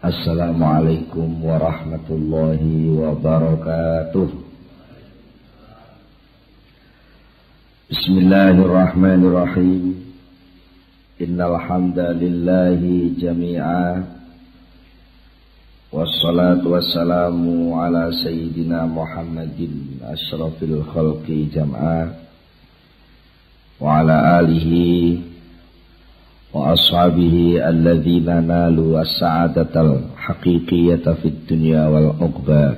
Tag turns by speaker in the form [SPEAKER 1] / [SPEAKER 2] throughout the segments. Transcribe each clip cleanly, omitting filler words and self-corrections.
[SPEAKER 1] Assalamualaikum warahmatullahi wabarakatuh. Bismillahirrahmanirrahim. Innal hamdalillahi jami'a. Wassalatu wassalamu ala sayyidina Muhammadin asyrafil khalqi jam'a wa ala alihi wa ashabihi alladzina nalu as-sa'adatal haqiqiyata fid dunya wal uqba.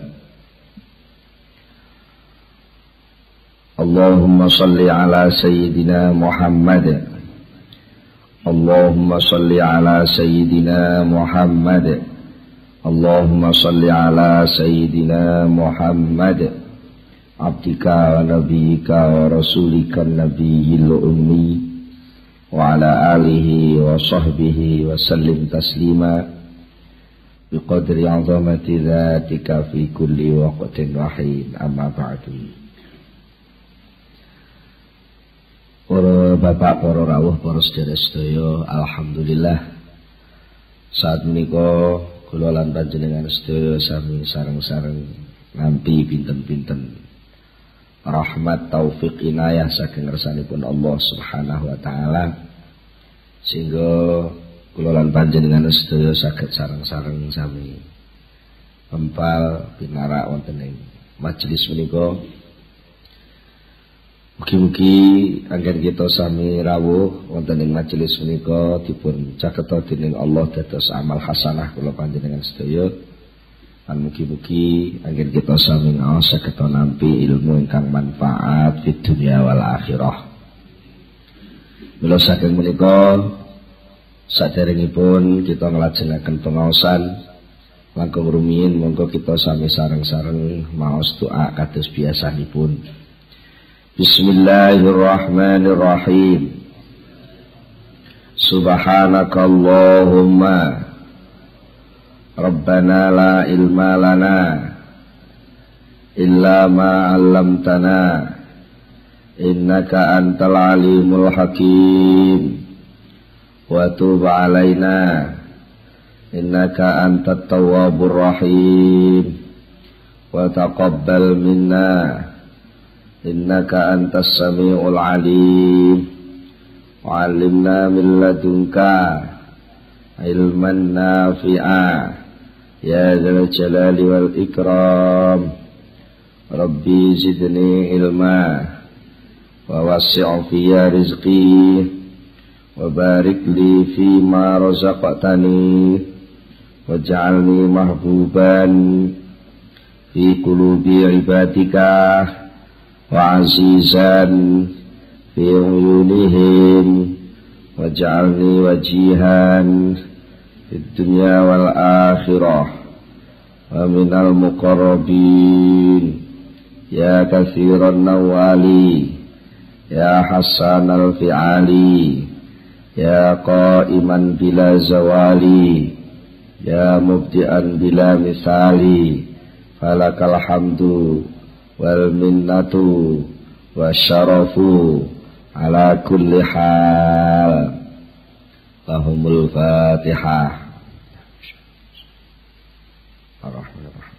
[SPEAKER 1] Allahumma salli ala sayyidina Muhammad. Allahumma salli ala sayyidina Muhammad. Allahumma salli ala sayyidina Muhammad abdika wa nabiyika wa rasulika nabiyil ummi wa ala alihi wa sahbihi wa sallim taslima biqadri azamati dhatika fi kulli waqtin wahin, amma ba'du. Para bapak, para rawuh, para sedherek sedaya, alhamdulillah saat menika kula lan panjenengan sedaya sami sareng-sareng nampi pinten-pinten rahmat taufik inayah saking ngersanipun Allah Subhanahu wa taala, sehingga kula lan panjenengan sedaya saged sareng-sareng sami empal pinarak wonten ing majelis menika. Mugi-mugi anggen kita sami rawuh wonten ing majelis menika dipun caketa dening Allah dados amal hasanah kula panjenengan sedaya. Lan mugi-mugi anggen kita sami ngaos saged nampi ilmu ingkang manfaat fid dunya wal akhirah. Mila saking menika saderengipun kita nglajengaken pengaosan langkung rumiyin, monggo kita sami sareng-sareng maos doa kados biasanipun. Bismillahirrahmanirrahim. Subhanakallahumma Rabbana la ilma lana illa ma 'allamtana innaka antal alimul hakim wa tub 'alaina innaka antat tawwabur rahim wa taqabbal minna innaka antas samiul alim wa 'allimna min ladunka ilman nafi'a ya dzal jalali wal ikram. Rabbi zidni ilma wa wasi' fiyya rizqi wa barik li fima razaqtani waj'alni mahbuban fi qulubi ibadika wa azizan fi uyunihim waj'alni wajihan fid dunya wal akhirah wa minal muqarrabin ya katsiran nawali ya hasanal fi'ali ya qa'iman bila zawali ya mubdi'an bila misali falakal hamdu wal minnatu wasyarafu ala kulli hal. Lahumul Fatihah. Ar-Rahmanir-Rahim.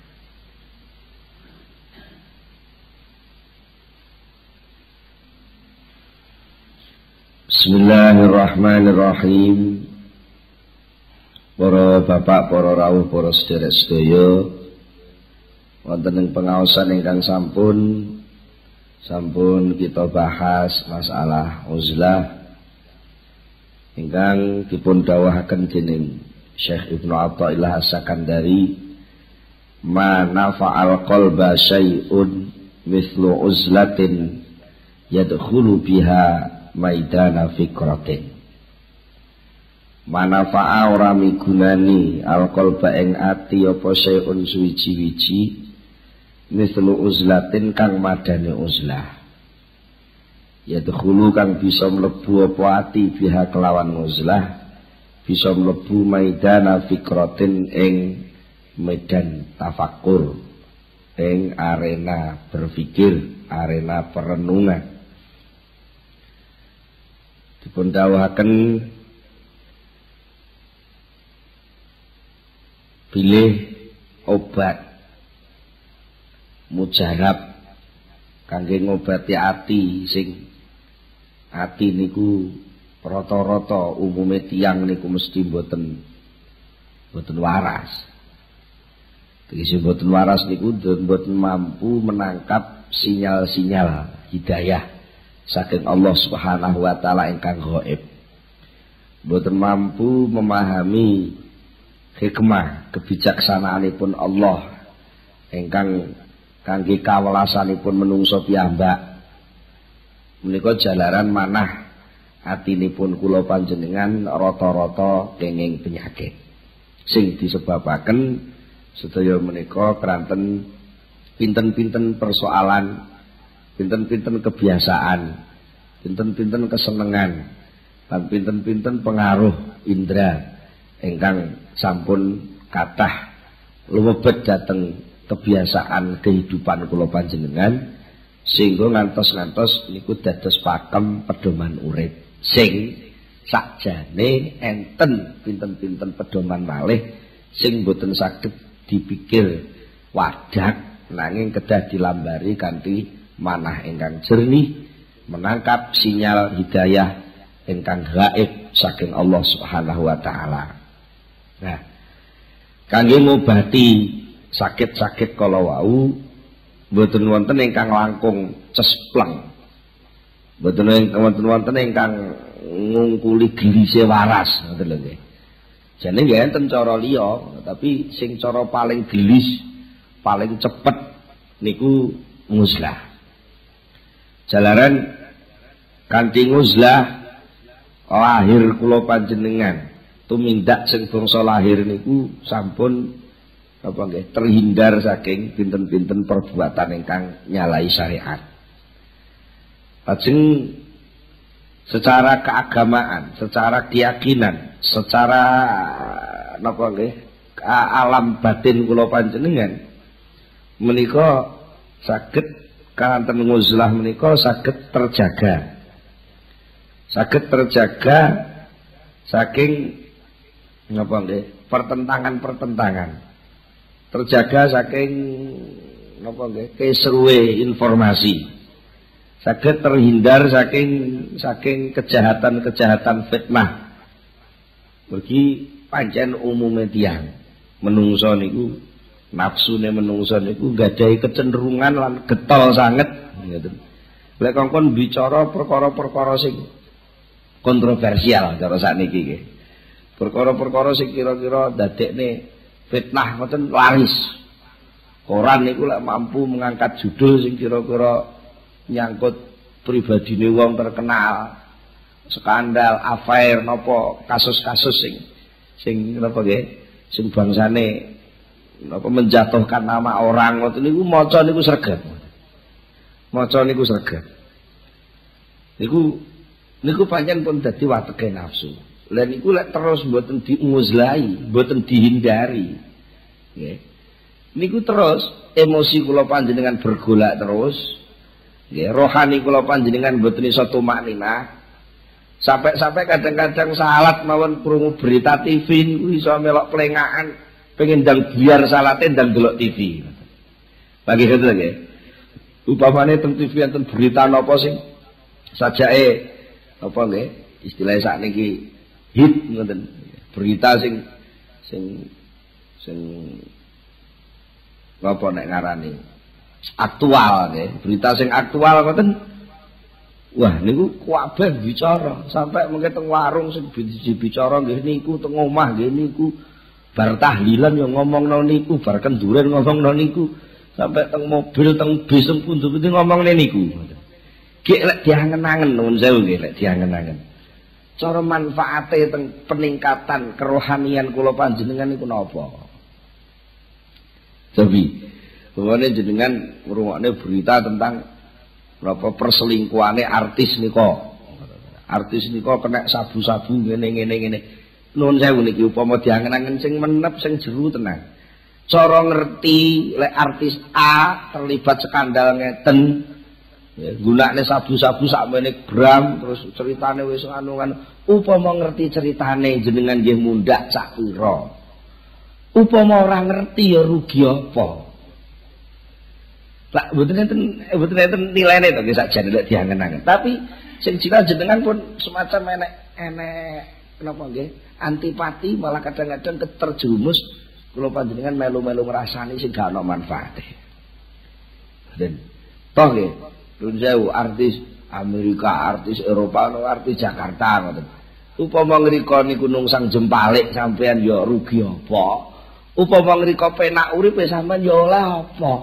[SPEAKER 1] Bismillahirrahmanirrahim. Para bapak, para rawuh, para sedherek sedaya, wonten ing pengaosan ingkang sampun kita bahas masalah uzlah ingkang dipun dawuhaken dening Syekh Ibnu Athaillah As-Sakandari, ma nafa'al qalba syai'un mithlu uzlatin yadkhulu biha maidana fikratin. Manafa'a ora migunani al-qalba ing ati apa syai'un suwiji-wiji mithlu uzlatin kang madane uzlah. Yadkhulu kang bisa mlebu apa ati biha kelawan uzlah, bisa mlebu maidana fikratin ing medan tafakur, ing arena berpikir, arena perenungan. Dipun dawuhaken bilih obat mujarab kangge ngobati ati sing ati niku rata-rata umume tiyang niku mesti mboten waras. Tegese mboten waras niku mboten mampu menangkap sinyal-sinyal hidayah saking Allah Subhanahu wa taala ingkang gaib. Mboten mampu memahami hikmah kebijaksanaanipun Allah ingkang kangge kawelasanipun menungso piyambak. Menika jalaran manah atinipun kula panjenengan rata-rata kenging penyakit sing disebabaken sedaya menika keranten pinten-pinten persoalan, pinten-pinten kebiasaan, pinten-pinten kesenengan, lan pinten-pinten pengaruh indra ingkang sampun kathah lumebet dhateng kebiasaan kehidupan kula panjenengan sehingga ngantos-ngantos niku dados pakem pedoman urip sing sakjane enten pinten-pinten pedoman malih sing boten saged dipikir wadak nanging kedah dilambari kanthi manah ingkang jernih menangkap sinyal hidayah ingkang gaib saking Allah Subhanahu wa taala. Nah, kangge ngobati sakit-sakit kala wau mboten wonten ingkang langkung cespleng. Mboten wonten ingkang ngungkuli gelise waras, ngoten lho nggih. Jane nggih enten cara liya, tapi sing cara paling gelis, paling cepet niku nguzlah. Jalaran kanthi nguzlah lahir kula panjenengan tumindak sing bangsa lahir niku sampun apa nggih terhindar saking pinten-pinten perbuatan ingkang nyalahi syariat. Lajeng secara keagamaan, secara keyakinan, secara napa nggih alam batin kula panjenengan menika saged kanten nguzlah menika saged terjaga. Saged terjaga saking napa nggih pertentangan-pertentangan. Terjaga saking napa nggih keseruwe informasi. Saged terhindar saking kejahatan-kejahatan fitnah. Mergi pancen umume tiyang menungso niku nafsune menungso niku gadahi kecenderungan lan getol sanget ngoten. Lek kongkon bicara perkara-perkara sing kontroversial cara sakniki nggih. Perkara-perkara sing kira-kira dadekne fitnah ngoten laris. Koran niku lek mampu mengangkat judul sing kira-kira nyangkut pribadine wong terkenal, skandal, affair napa kasus-kasus sing napa nggih, sing bangsane napa menjatuhkan nama orang ngoten niku maca niku sregep. Maca niku sregep. Niku pancen pun dadi wateke nafsu. Lah niku lek terus mboten diunguzlahi, mboten dihindari. Nggih. Niku terus emosi kula panjenengan bergolak terus. Nggih, rohani kula panjenengan mboten iso tumakninah. Sampai kadang-kadang salat mawon krungu berita TV niku iso melok plengakan, pengen ndang biar salate ndang delok TV. Bagi ngoten nggih. Upamane teng TV enten berita napa sing sajake apa nggih, istilah sakniki hit ngoten. Berita sing apa nek ngarani aktual nggih, berita sing aktual ngoten. Wah niku kabeh bicara, sampai mengke teng warung sing bicara nggih niku, teng omah nggih niku, bar tahlilan yo ngomongno niku, bar kenduren ngomongno niku, sampai teng mobil, teng bis, teng pundi-pundi ngomongne niku. Ki lek diangen-angen nuwun sewu nggih, lek diangen-angen. Cara manfaate teng peningkatan kerohanian kula panjenengan niku napa? Tapi bahwane jenengan ngrungokne berita tentang berapa perselingkuhane artis nika. Artis nika kena sabu-sabu ngene. Nuwun sewu niki upama diangen-angen sing menep sing jero tenan. Cara ngerti lek artis A terlibat skandal ngeten, ya, gunakne sabu-sabu sakmene gram terus ceritane wis anu kan upama ngerti ceritane jenengan nggih mundhak sak pira. Upama ora ngerti ya rugi apa? Lah mboten enten nilainya to nggih sakjane lek diangen-angen. Tapi sing jelas jenengan pun semacam enek napa nggih antipati malah kadang-kadang terjerumus kula panjenengan melu-melu ngrasani sing gak ana manfaate. Dan toh nggih nuwun sewu artis Amerika, artis Eropa, artis Jakarta ngoten. Upama ngrika niku nungsang jempalik sampean ya rugi apa? Upama ngrika penak uripe sampean ya oleh apa?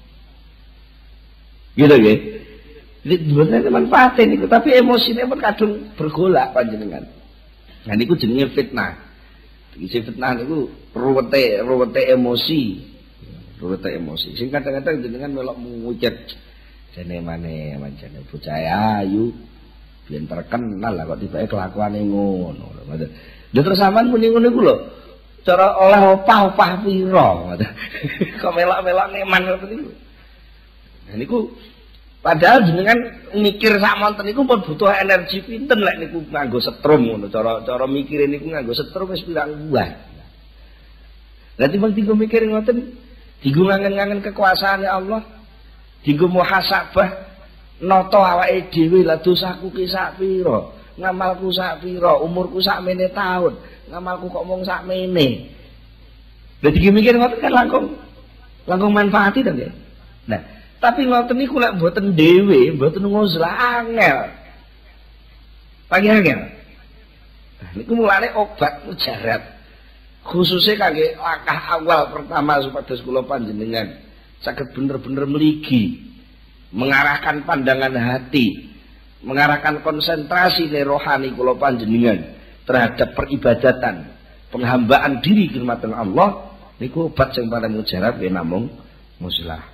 [SPEAKER 1] Gitu nggih. Ini manfaatnya niku, tapi emosinya pun kadung bergolak panjenengan. Nah niku jenenge fitnah. Isi fitnah niku ruwete emosi. Ruwete emosi. Sing kadang-kadang jenengan melok ngucap jane maneh mancane bocah ayu biyen terkenal lah kok tibake kelakuane ngono. Lha terus sampean muni ngono iku lho. Cara oleh opah pira. Kok melok-melok ngeman ngoten niku. Nah niku padahal jenengan mikir sak monten niku pun butuh energi pinten lek niku nganggo setrum ngono. Cara mikire niku nganggo setrum wis pirang buah. Lah timbang dienggo mikir ngoten, dienggo ngangen-ngangen kekuasaane Allah, dienggo muhasabah nata awake dhewe lah dosaku ki sak pira, ngamalku sak pira, umurku sak mene taun, ngamalku kok mung sak mene. Lah dienggo mikir ngoten kan langkung manfaati to nggih. Nah, tapi ngoten niku lek mboten dhewe, mboten nguzlah angel. Pagi angel. Nah, niku mulane obat mujarab. Khususnya kangge langkah awal pertama supados kula panjenengan saged bener-bener mligi, mengarahkan pandangan hati, mengarahkan konsentrasi rohani kula panjenengan terhadap peribadatan, penghambaan diri khidmatan Allah niku obat sing paling mujarab ya namung muslah.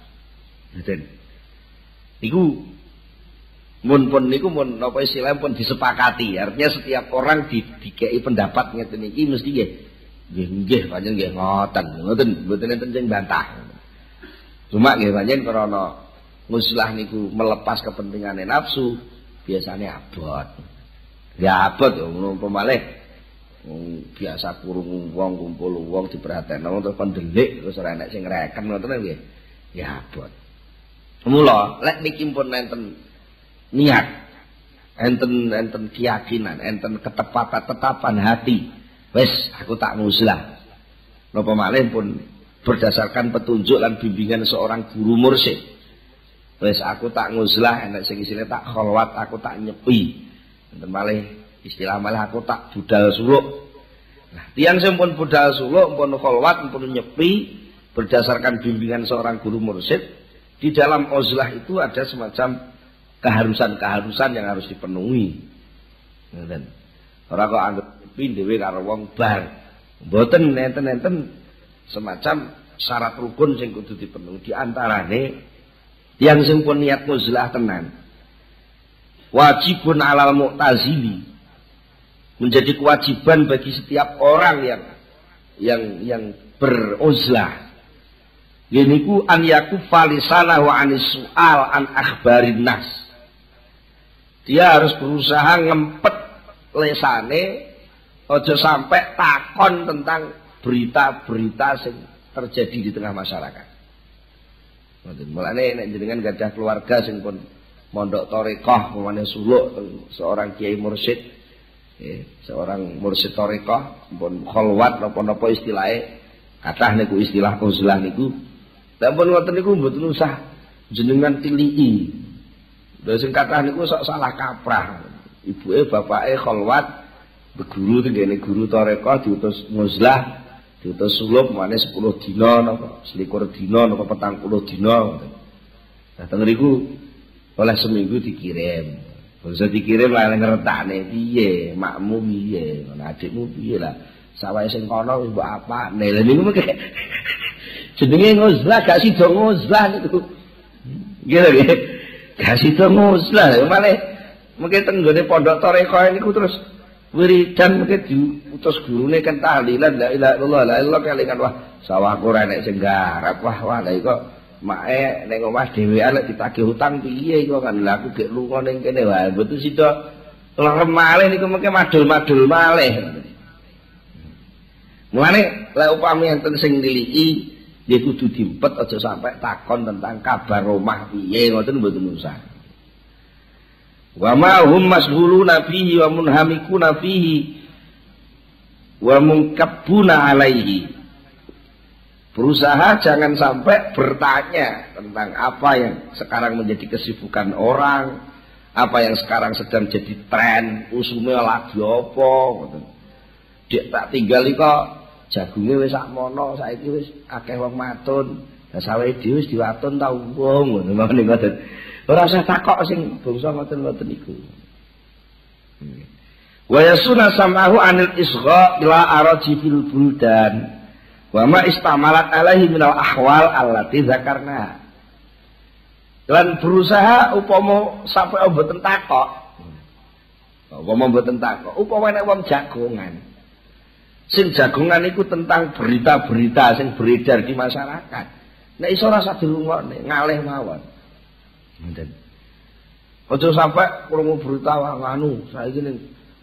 [SPEAKER 1] Niku mun napa istilah pun disepakati. Artinya setiap orang dikei pendapat ngeten iki mesti nggih pancen nggih ngoten mboten enten sing bantah. Cuma nggih pancen krana muslah niku melepas kepentingane nafsu biasanya abot. Ya abot ya umpama malih biasa kurung wong kumpul wong diperhatekno terus pendelik terus ora enek sing ngreken ngoten nggih. Ya abot. Mula lek niki pun enten niat, enten keyakinan, enten ketetapan hati. Wes aku tak nguzlah. Napa malih pun berdasarkan petunjuk dan bimbingan seorang guru mursyid. Wes aku tak nguzlah, enek sing isine tak kholwat, aku tak nyepi. Enten malih istilah malih aku tak budal suluk. Nah, tiyang sing pun budal suluk, pun kholwat, pun nyepi berdasarkan bimbingan seorang guru mursyid, di dalam uzlah itu ada semacam keharusan-keharusan yang harus dipenuhi. Ngoten. Ora kok anggap dhewe karo wong bar. Mboten nenten-nenten semacam syarat rukun sing kudu dipenuhi. Di antarane yang sing pun niat uzlah tenan. Wajibun alal mu'tazili. Menjadi kewajiban bagi setiap orang yang beruzlah. Yeniku an yakuffa lisanahu anis su'al an akhbarin nas. Dia harus berusaha ngempet lesane aja sampai takon tentang berita-berita yang terjadi di tengah masyarakat. Mulane nek jenengan gadah keluarga sing pun mondok tarekah pemane suluk seorang kiai mursyid, seorang mursyid tarekah pun kholwat napa-napa istilahnya, kathah niku istilah uzlah niku. Lah pun ngoten niku mboten usah jenengan tilii. Lha sing kathah niku sok salah kaprah. Ibuke bapake kholwat, beguru tengene guru tarekah diutus nguzlah, diutus suluk mane 10 dina napa 21 dina napa 40 dina. Nah teng niku oleh seminggu dikirim. Bisa dikirim lah ngertakne piye, makmu piye, adikmu piye lah. Sawahe sing kono mbok apa? Nah lha niku mengke jenenge nguzlah gak sida nguzlah niku. Nggih lho nggih. Gak sida nguzlah malah mengke teng gone pondok tarekah niku terus wiridan mengke diutus gurune kan tahlilan la ilaha illallah la ilaha kelingan wah sawahku ora nek sing garap wah lha kok mae ning omah dhewean lek ditagih utang piye kok kan lha aku gek lunga ning kene wae mboten sida lerem malih niku mengke madul-madul malih. Mulane lek upami enten sing niliki nggih kudu diempet aja sampai takon tentang kabar omah piye ngoten mboten usah. Wa ma hum masghuluna fihi wa munhamikuna fihi wa munkabbuna alaihi. Berusaha jangan sampai bertanya tentang apa yang sekarang menjadi kesibukan orang, apa yang sekarang sedang jadi tren, usume lagi apa ngoten. Dek tak tinggali kok jagunge wis sakmono, saiki wis akeh wong matun. Lah sawe dhewe wis diwatun ta wong ngono ngoten. Ora usah takok sing bangsa ngoten-ngoten iku. Wa yasuna sam'ahu anil isgha ila araji fil buldan. Wa ma istamalat alaihi minal ahwal allati dzakarna. Lan berusaha upama sampai mboten takok. Upama mboten takok, upama nek wong jagongan. Sing jagongan iku tentang berita-berita sing beredar di masyarakat. Nek iso rasa dirungokne, ngalih mawon. Ngoten. Aja sampai krungu berita nganu, saiki ning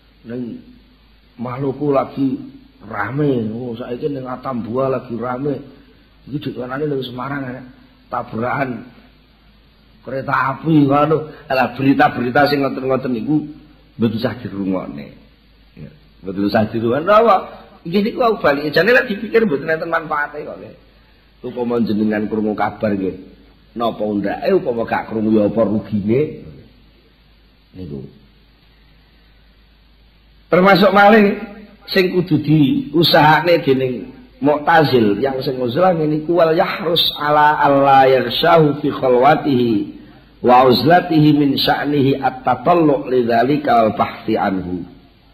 [SPEAKER 1] Maluku lagi rame, saiki ning Atambua lagi rame. Iki dikanane ning Semarang tabrakan kereta api ngono. Lah berita-berita sing ngoten-ngoten niku mboten usah dirungokne. Ya, mboten usah dirungokne apa? Iki niku aku bali jane lek dipikir mboten enten manfaate kok. Upama jenengan krungu kabar nggih. Napa ndake upama gak krungu ya apa rugine. Niku. Termasuk malih sing kudu diusahane dening Mu'tazil yang sing uzlah niku wal yahrus ala alla yarshahu fi khalwatihi wa uzlatihi min sya'nihi at-tatallu' lidzalika wal bahthi anhu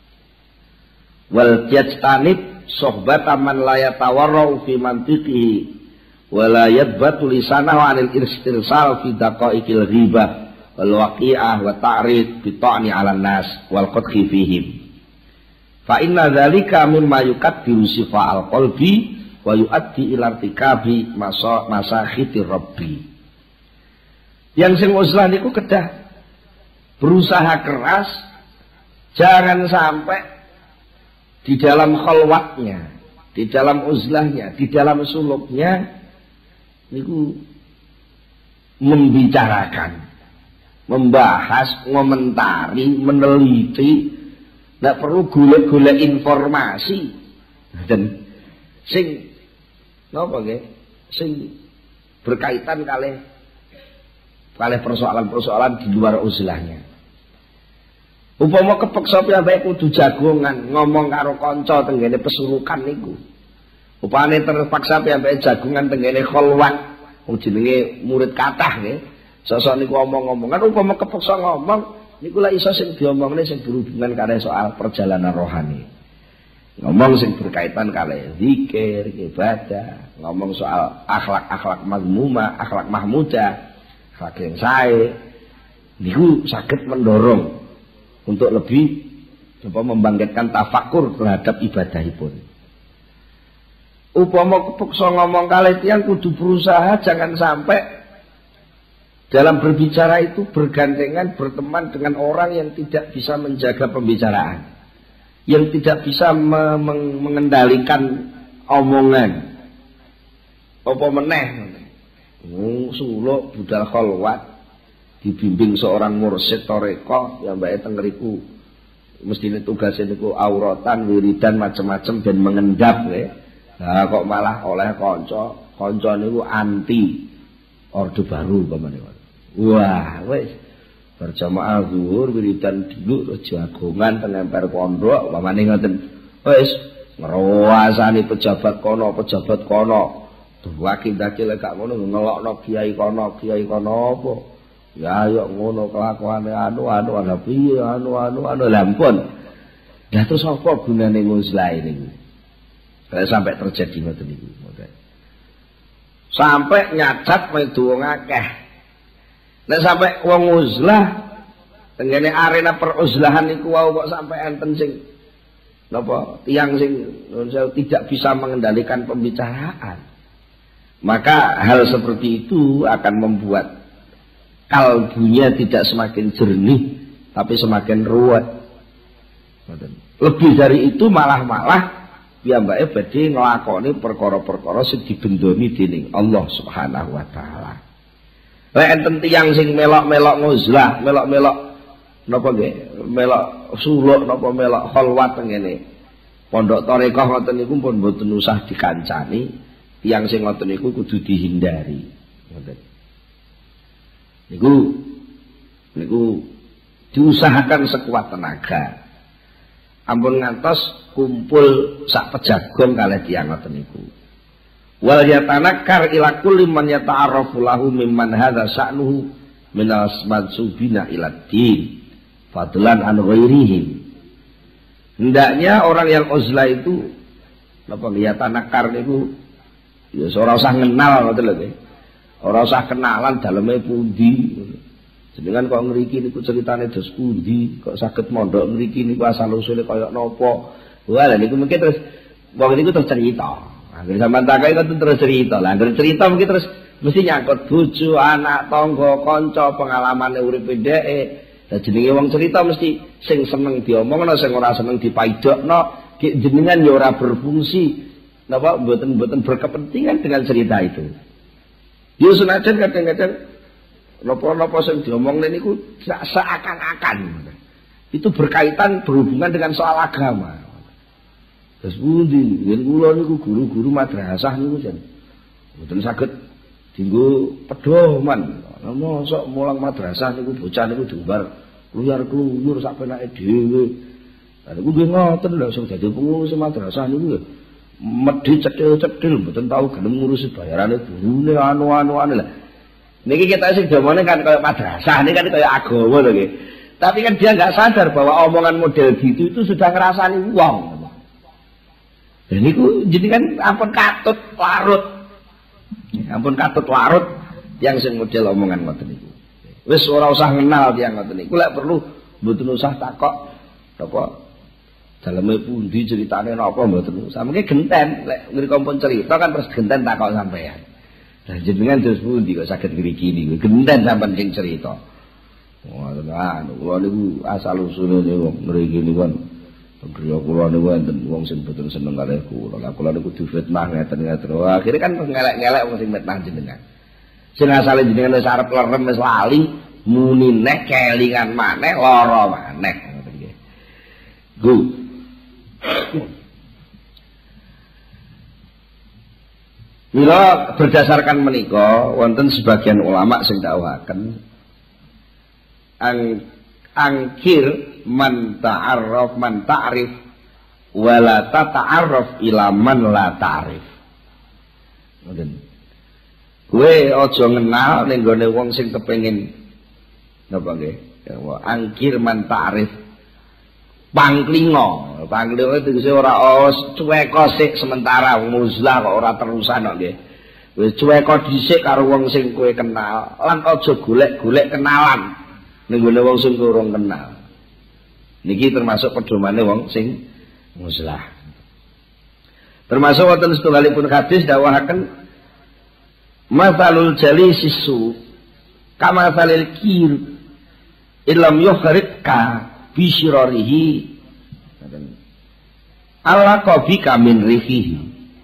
[SPEAKER 1] wal yajtanib sohbata man la yatawarra'u fi mantiqihi wa la yadbatu lisanahu 'anil istirsal fi daqa'iqil ghibah wal waqi'ah wa ta'rid bi ta'ni 'alan nas wal qadhi fihim. Fa inna dzalika mimma yukaddiru sifa'al qalbi wa yuaddi ila irtikabi masakhitir rabbi. Yang sing uzlah niku kedah berusaha keras jangan sampai di dalam khalwatnya, di dalam uzlahnya, di dalam suluknya niku membicarakan, membahas, ngomentari, meneliti. Nggak perlu golek-golek informasi dan sing napa nggih sing berkaitan kalih persoalan-persoalan di luar uzlahnya. Upama kepeksa piyambake kudu jagongan ngomong karo kanca tenggene pesurukan niku. Upane terpaksa piyambake jagongan tenggene kholwat wong jenenge murid kathah nggih. Sosok niku omong-omongan upama kepeksa ngomong niku lak iso sing diomongne sing berhubungan karo soal perjalanan rohani. Ngomong sing berkaitan karo zikir, ibadah, ngomong soal akhlak-akhlak mazmumah, akhlak mahmudah, akhlak yang sae. Niku saged mendorong untuk lebih membangkitkan tafakur terhadap ibadahipun. Upama kepeksa ngomong kalih tiyang kudu berusaha jangan sampai dalam berbicara itu bergandengan berteman dengan orang yang tidak bisa menjaga pembicaraan, yang tidak bisa mengendalikan omongan. Apa meneh suluk budal kholwat dibimbing seorang mursyid toreko yang mbake teng ngriku mestine tugasnya niku auratan, wiridan macam-macam dan mengendap ya. Nah kok malah oleh kanca niku anti orde baru pamane. Wah, wis berjamaah zuhur wiridan dulu jagongan teng emper pondok pamane ngoten. Wis ngrowasani pejabat kono. Duwake dadi lek gak ngono ngelokno kiai kono apa. Ya yo ngono kelakuane anu ana piye anu lampun. Lah terus apa gunane nguzlah niku? Kalau sampai terjadi ngoten niku. Sampai nyacat medu wong akeh. Nek sampai wong uzlah tenggene arena peruzlahan niku wau kok sampai enten sing napa tiyang sing tidak bisa mengendalikan pembicaraan. Maka hal seperti itu akan membuat kalbunya tidak semakin jernih tapi semakin ruwet. Lebih dari itu malah piyambake badhe nglakoni perkara-perkara sing dibendoni dening Allah Subhanahu wa taala. Lek enten tiyang sing melok-melok nguzlah, melok-melok napa nggih, melok suluk napa melok khalwat ngene. Pondok tarekah ngoten niku pun mboten usah dikancani, tiyang sing ngoten niku kudu dihindari. Ngoten. Niku diusahakan sekuat tenaga. Ampun ngantos kumpul sak pejagong kalih tiyang ngoten niku. Wal yatanakkar ila kulli man yata'arrafu lahu mimman hadza sya'nuhu min as-mansubina ila din fadlan an ghairihim. Hendaknya orang yang uzlah itu napa yatanakkar niku ya ora usah ngenal ngoten lho nggih. Ora usah kenalan daleme pundi. Jenengan kok ngriki niku ceritane dos pundi, kok saged mondok ngriki niku asal usule kaya napa. Wah, lha niku mungkin terus wong niku terus cerita. Anggere sampean takai kok terus cerita. Lah anggere cerita mungkin terus mesti nyangkut bojo, anak, tangga, kanca, pengalamane uripe dheke. Lah jenenge wong cerita mesti sing seneng diomongno, sing ora seneng dipaidokno. Jenengan ya ora berfungsi napa mboten berkepentingan dengan cerita itu. Yo senajan kadang-kadang napa-napa sing diomongne niku seakan-akan itu berkaitan berhubungan dengan soal agama. Terus pundi yen kula niku guru-guru madrasah niku jan mboten saged dienggo pedoman. Mosok mulang madrasah niku bocah niku diumbar kluyur-kluyur sak penake dhewe. Lah niku nggih ngoten lho sing dadi pengurus madrasah niku medhi cethil-cethil mboten tau gelem ngurusi bayarane gurune anu-anuane lah. Niki kita sing domone kan kaya madrasah, ini kan kaya agama lho nggih. Tapi kan dia enggak sadar bahwa omongan model gitu itu sudah ngrasani wong. Dan niku jenengan ampun katut larut. Ampun katut larut yang sing model omongan ngoten niku. Wis ora usah ngenal tiyang ngoten niku, lek perlu mboten usah takok apa daleme pundi ceritane napa mboten usah. Mengke genten lek ngriko pun cerita kan terus genten takok sampean. Lah jenengan terus pundi kok saged ngriki niku genten sampean sing cerita. Ngoten kula niku asal usule wong ngriki niku kan griya kula niku enten wong sing boten seneng kalih kula. Lah kula niku difitnah ngeten-ngeten. Akhire kan ngelek-ngelek wong sing fitnah jenengan. Sing asale jenengan wis arep lerem wis lali muni neh kelingan maneh lara maneh ngoten nggih. Gu. Mila berdasarkan menika wonten sebagian ulama sing dawuhaken angkir man ta'arraf man ta'rif wala tata'arraf ila man la ta'rif. Ngoten. Kowe aja ngenal ning gone wong sing kepengin napa nggih? Angkir man ta'rif. Pangklingo itu ora cuweka sik sementara muzlah kok ora terusan kok nggih. Wis cuweka dhisik karo wong sing kowe kenal, lan aja golek-golek kenalan ning gone wong sing urung kenal. Niki termasuk pedomane wong sing muzlah. Termasuk wonten setunggalipun hadis dawuhaken matsalul jalisisu kama salil kir illam yukhrijka bisyirarihi Allah qabika min rifihi.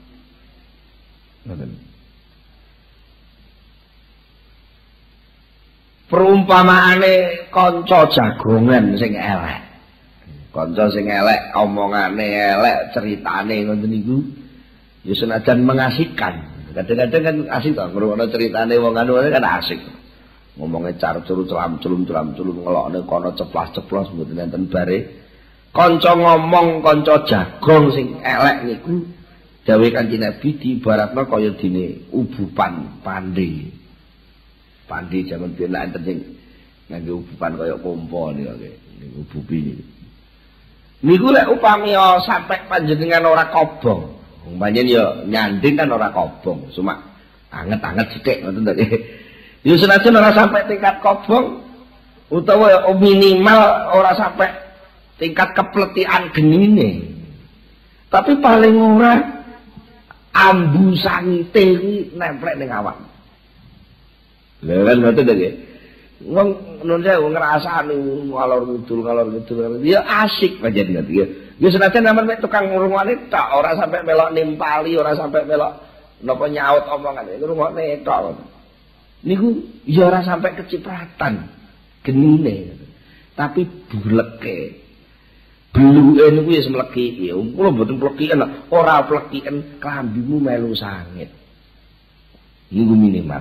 [SPEAKER 1] Perumpamaane kanca jagongan sing elek. Kanca sing elek omongane elek, ceritane ngoten niku ya senajan mengasihkan. Kadang-kadang kan asik to ngrungokno ceritane wong anu kan asik. Ngomongnya carcuru celam-celum ngelokne kono ceplas-ceplos mboten enten bare. Kanca ngomong kanca jagong sing elek niku dawuh Kanjeng Nabi diibaratna kaya dene ubupan pande. Pande jaman biyen enten sing ngangge ubupan kaya kompo niku ubupi niku. Niku lek upami sampe panjenengan ora kobong. Umpamane ya nyanding kan ora kobong, cuma anget-anget sithik ngoten to nggih. Ya senajan ora sampai tingkat kobong utawa minimal ora sampai tingkat kepletian genine. Tapi paling ora ambu sangite iki nemplek ning awak. Lha kan ngoten to nggih. Wong nun saya ngrasani ngalor ngidul ya asik pancen ngoten nggih. Ya senajan sampean mek tukang ngrungokne tok, ora sampai melok nimpali, ora sampai melok napa nyaut omongan, ngrungokne tok. Niku ya ora sampai kecipratan genine. Tapi buleke. Bluke niku ya semleki. Ya kula mboten plekiken, ora plekiken klambimu melu sangit. Niku minimal.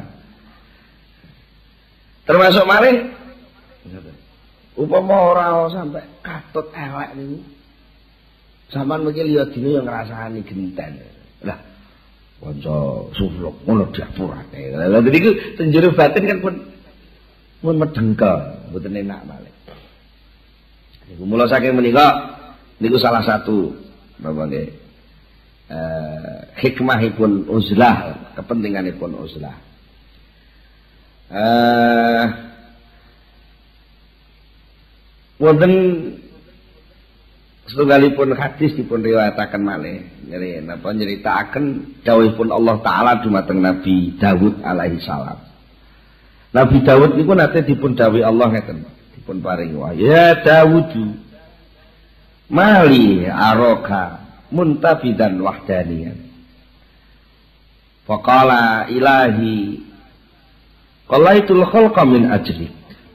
[SPEAKER 1] Termasuk malih upama ora sampai katut elek niku. Sampeyan mungkin liya dina yang ngrasani genten. Lah, kanca sufluk ngono diapurake. Lah niku tenjero batin kan pun medengkel, mboten enak malih. Niku mula saking menika niku salah satu napa nggih hikmahipun uzlah, kepentinganipun uzlah. Wonten setunggalipun hadis dipun riwayataken malih napa nyritakaken dawuhipun Allah taala dumateng Nabi Daud alaihi salam. Nabi Daud niku nate dipun dawuhi Allah ngeten, dipun paring wahyu, ya Daud mali aroka muntabidan wahdaniyan. Faqala ilahi qalaitul khalqa min ajlik.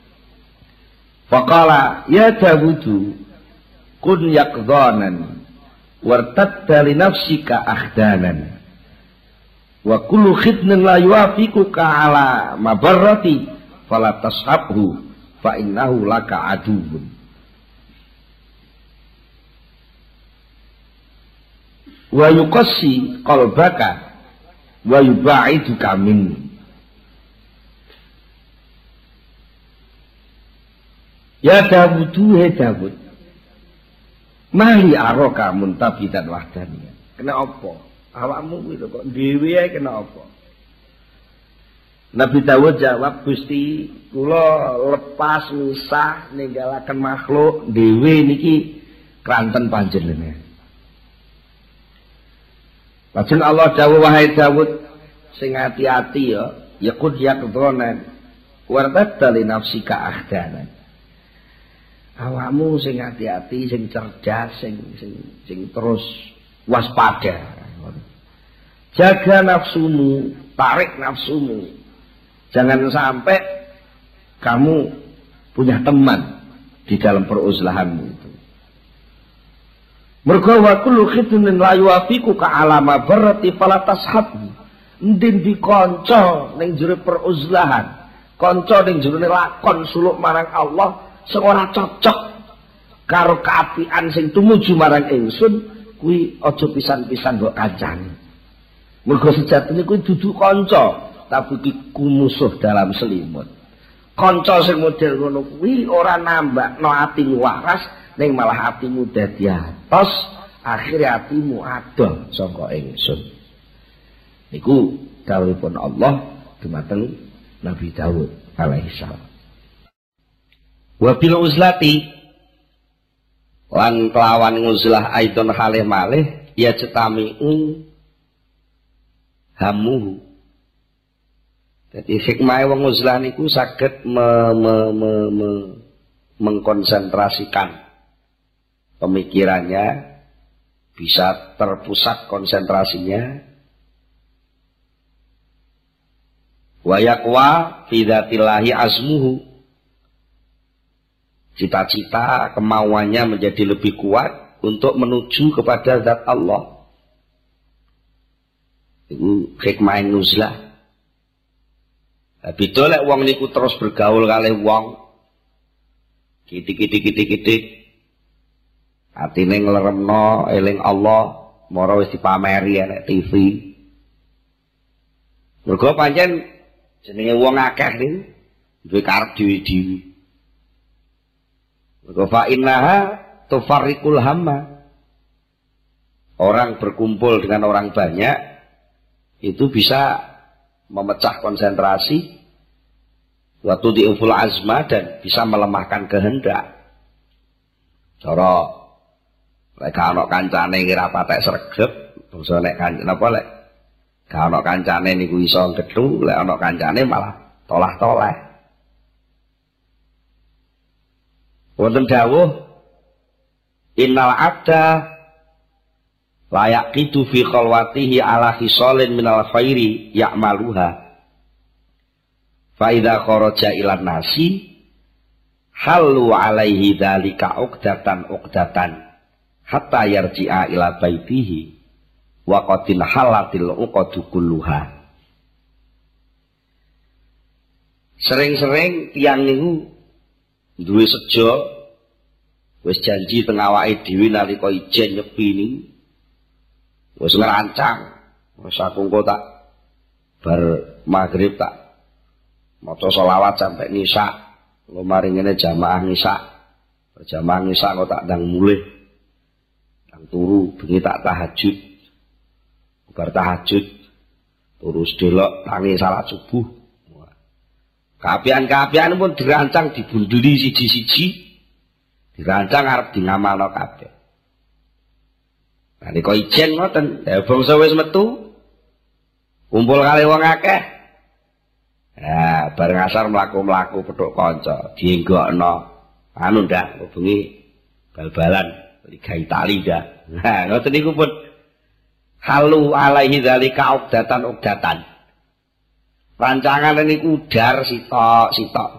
[SPEAKER 1] Faqala ya Daud kun yaqdhanan wartadda li nafsika ahdanan wa kullu khidnin la yuafiquka ala mabarrati fala tashabhu fa innahu laka aduun. Wa yuqassi qalbaka wa yubaiduka minni. Ya Dawud, he Dawud, mali aroka muntabidan wahdaniyan. Kena apa? Awakmu kuwi kok dhewe ae kena apa? Nabi Dawud jawab, Gusti, kula lepas misah ninggalaken makhluk dhewe niki kranten panjenengan. Lajeng Allah dawuh, wahai Dawud, sing hati-hati ya, yaqud yaqdhanan wartadda li nafsika ahdanan. Awakmu sing hati-hati, sing cerdas, sing terus waspada. Jaga nafsumu, tarik nafsumu. Jangan sampai kamu punya teman di dalam peruzlahanmu itu. Mergo wa kullu khidnin la yuafiqu ka alama barati fala tashabhu. Ndin dikanca ning jero peruzlahan, kanca ning jero lakon suluk marang Allah sing ora cocok karo kaapian sing tumuju marang ingsun, kuwi aja pisan-pisan mbok kancani. Mergo sejatine kuwi dudu kanca, tapi iku musuh dalam selimut. Kanca sing model ngono kuwi ora nambakno atimu waras, ning malah atimu dadi atos, akhire atimu adoh saka ingsun. Niku dawuhipun Allah dumateng Nabi Daud alaihi salam. Wa bil uzlati lan kelawan nguzlah aidon halih malih ya cetamiu hamuhu. Jadi hikmah wong uzlah niku saged mengkonsentrasikan pemikirannya, bisa terpusat konsentrasinya. Wa yaqwa fi dzatillahi azmuhu. Cita-cita, kemauannya menjadi lebih kuat untuk menuju kepada zat Allah. Itu hikmah nuzlah. Beda lek wong niku terus bergaul kalih wong kitik-kitik atine ngleremno eling Allah, mara wis dipameri nek TV. Mergo pancen jenenge wong akeh niku duwe karep dhewe-dhewe. Fa innaha tufarriqul hamma. Orang berkumpul dengan orang banyak itu bisa memecah konsentrasi, wa tudhi'uful azma, dan bisa melemahkan kehendak. Cara lek ana kancane kira patek sregep, bangsa nek kancane napa lek gak ana kancane niku iso gedhu, lek ana kancane malah tolah-toleh. Wonten dawuh innal abda layak itu fi khalwatihi ala khisalin minal khairi ya'maluha fa idza kharaja ilan nasi halu alaihi dzalika uqdatan hatta yarji'a ila baitihi wa qatil halatil uqadu kulluha. Sering-sering tiyang niku duwe sejo wis janji teng awake dhewe nalika ijen nyepi niku wis ngerancang wis aku engko tak bar maghrib tak maca selawat sampai nisa lo mari ngene jamaah nisa kok tak ndang mulih ndang turu bengi tak tahajud bar tahajud terus delok tangi salat subuh kaapian pun dirancang dibunduli siji-siji dirancang arep di ngamalno kabeh. Nah nika ijen ngoten, ya bangsa wis metu kumpul kali wong akeh. Nah, bareng asar mlaku-mlaku pedhok kanca, dienggokno. Anu ndak bengi bal-balan Liga Italia dah. Nah, ngoten niku pun halu alaihi dzalika uqdatan. Rancangan niku udar sitok.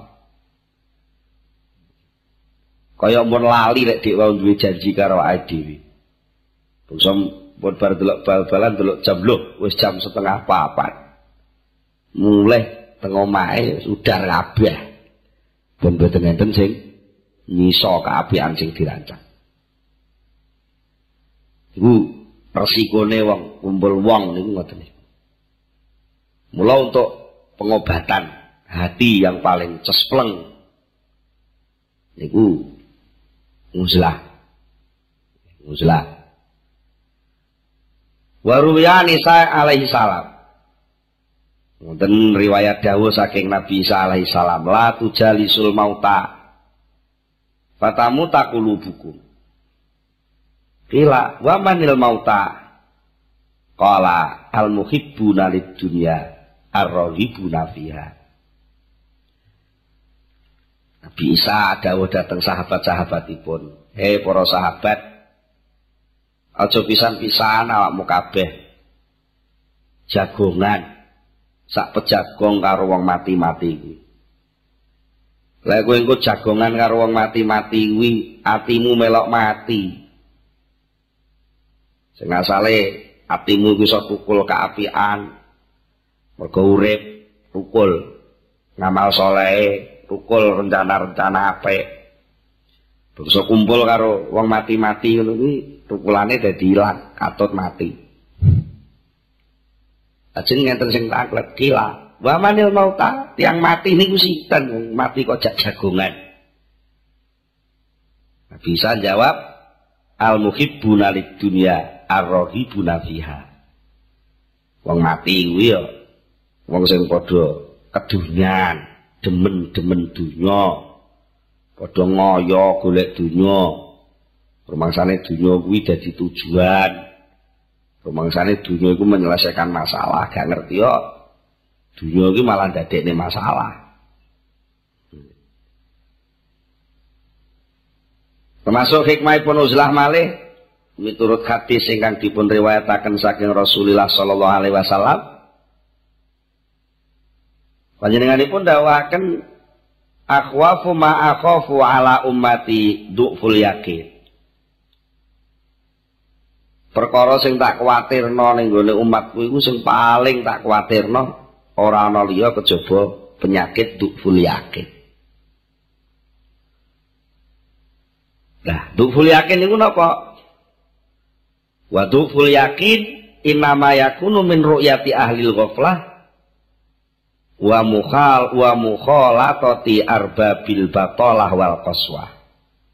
[SPEAKER 1] Kaya mun lali nek dik wau duwe janji karo awake dhewe. Bangsa pun bar delok bal-balan delok jam lho wis jam 3:30. Mulih teng omahe udar kabeh. Ben boten enten sing nyiso kaapian sing dirancang. Iku resikone wong kumpul wong niku ngoten niku. Mula untuk pengobatan hati yang paling cespleng niku uzlah. Waruya Isa alaihi salam. Wonten riwayat dawuh saking Nabi Isa alaihi salam, la tujalisul mauta fatamu taqulubukum. Qila wa manil mauta? Qala al muhibbuna lid dunya ar-raghibuna fiha. Nabi Isa dawuh dateng sahabat-sahabatipun, hei para sahabat, aja pisan-pisan awakmu kabeh jagongan sak pejagong karo wong mati-mati kuwi. Lah kowe engko jagongan karo wong mati-mati kuwi atimu melok mati. Sing asale atimu iku iso tukul kaapian, mergo urip tukul ngamal saleh, tukul rencana-rencana apik. Bangsa kumpul karo wong mati-mati ngono kuwi tukulane dadi ilang, katut mati. Ajeng ngenten sing taklet kila, wa manil mauta, tiang mati niku sinten? Mati kok jak jagongan. Bisa jawab al muhibbuna lid dunya ar-raghibuna fiha. Wong mati kuwi ya wong sing padha kedunyan, demen-demen dunya, padha ngoyo golek dunya. Rumangsane dunya kuwi dadi tujuan. Rumangsane dunya iku menyelesaikan masalah, gak ngerti yo. Dunya iki malah ndadekne masalah. Termasuk hikmahipun uzlah malih miturut hadis ingkang dipun riwayataken saking Rasulullah sallallahu alaihi wasallam. Panjenenganipun dawuhaken akhwafu ma akhafu ala ummati du'ful yakin. Perkara sing tak kuwatirno ning gone umatku iku sing paling tak kuwatirno ora ana liya kejaba penyakit du'ful yakin. Nah, du'ful yakin niku napa? Wa du'ful yakin innama yakunu min ru'yati ahlil ghaflah wa mukhalatati arbabil batalah wal qaswah.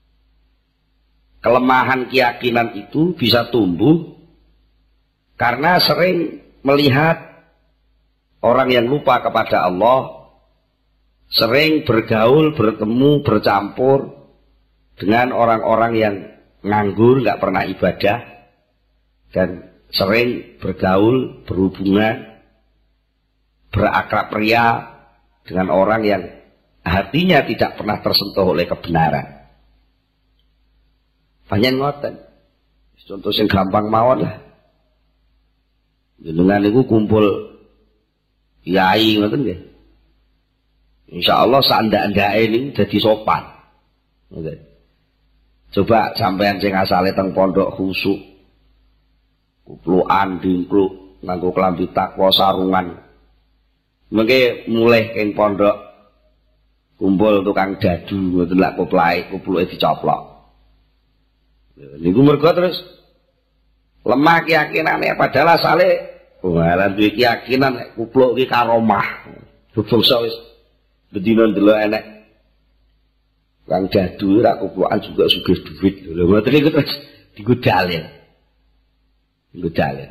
[SPEAKER 1] Kelemahan keyakinan itu bisa tumbuh karena sering melihat orang yang lupa kepada Allah, sering bergaul, bertemu, bercampur dengan orang-orang yang nganggur, nggak pernah ibadah, dan sering bergaul, berhubungan, berakrab ria dengan orang yang hatinya tidak pernah tersentuh oleh kebenaran. Panjen ngoten. Contoh sing gampang mawon lah. Jenengan niku kumpul kiai ngoten nggih. Insyaallah sandak-ndake niku dadi sopan. Ngoten. Coba sampean sing asale teng pondok khusuk. Kuplukan dingkluk nganggo klambi takwa sarungan. Mengke mulai ing pondok kumpul tukang dadu ngoten lak kupluke dicoplok. Niku mergo terus lemah keyakinane padahal asale ora duwe keyakinan nek kupluk iki karomah. Bangsa wis bedina ndelok enek kang dadu ora kuplukan juga sugih duit. Lho ngoten niku terus digodale. Digodale.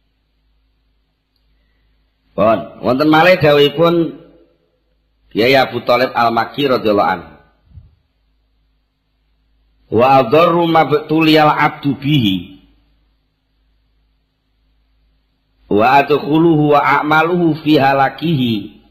[SPEAKER 1] Pun wonten malih dawuhipun Kyai Abu Thalib Al-Makki radhiyallahu anhu. Wa adharru mabtuliyal abdu bihi wa adkhuluhu wa a'maluhu fi halakihi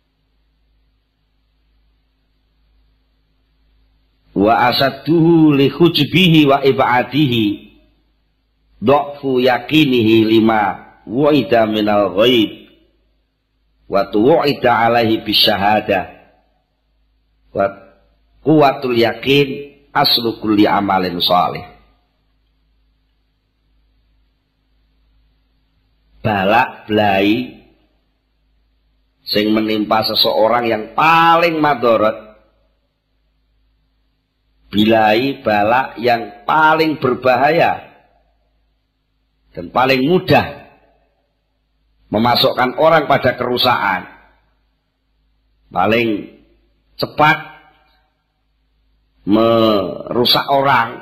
[SPEAKER 1] wa asadduhu li khujbihi wa ibadihi dha'fu yakinihi lima wa'ida minal ghaib wa tu'ida alaihi bisyahadah wa quwwatul yakin aslu kulli amalin shalih. Balak belai sing menimpa seseorang yang paling madharat, bilai balak yang paling berbahaya dan paling mudah memasukkan orang pada kerusakan, paling cepat merusak orang,